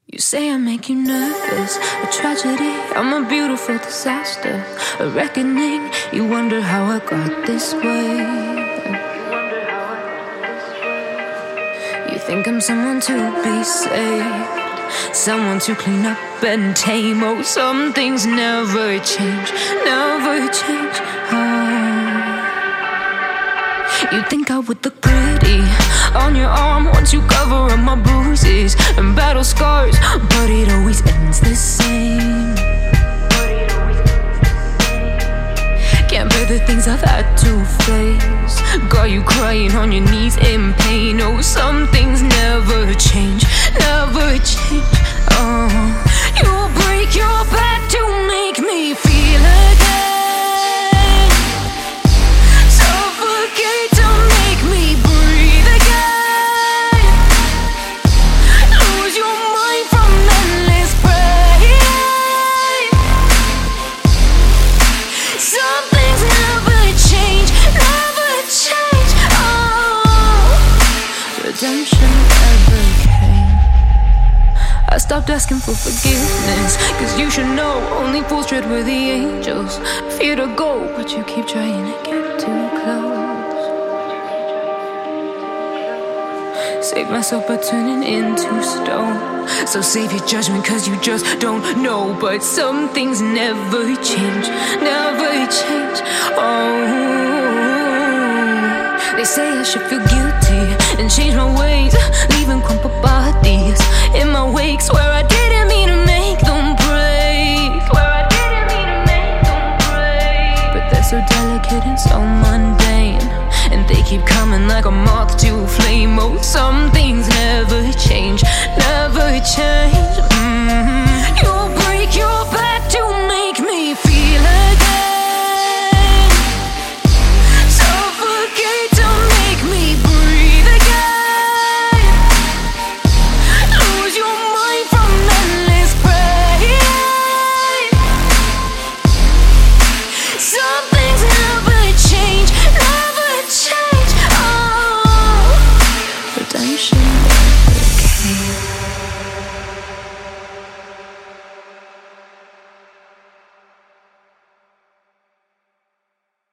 You say I make you nervous, a tragedy, I'm a beautiful disaster, a reckoning, you wonder how I got this way. You think I'm someone to be saved, someone to clean up and tame. Oh, some things never change, never change. You think I would look pretty on your arm once you cover up my bruises and battle scars, but it always ends the same. Can't bear the things I've had to face, got you crying on your knees in pain. Oh, some things never change, never change. Oh, you'll break your back to make me feel again. Redemption ever came. I stopped asking for forgiveness, cause you should know only fools tread where the angels fear to go, but you keep trying to get too close. Save myself by turning into stone, so save your judgment cause you just don't know. But some things never change, never change. Oh, they say I should feel guilty and change my ways, leaving crumpled bodies in my wake. Swear I didn't mean to make them break, swear I didn't mean to make them break. But they're so delicate and so mundane, and they keep coming like a moth to a flame. Oh, some things never change, never change. You'll break your back to make me feel again. Redemption never came.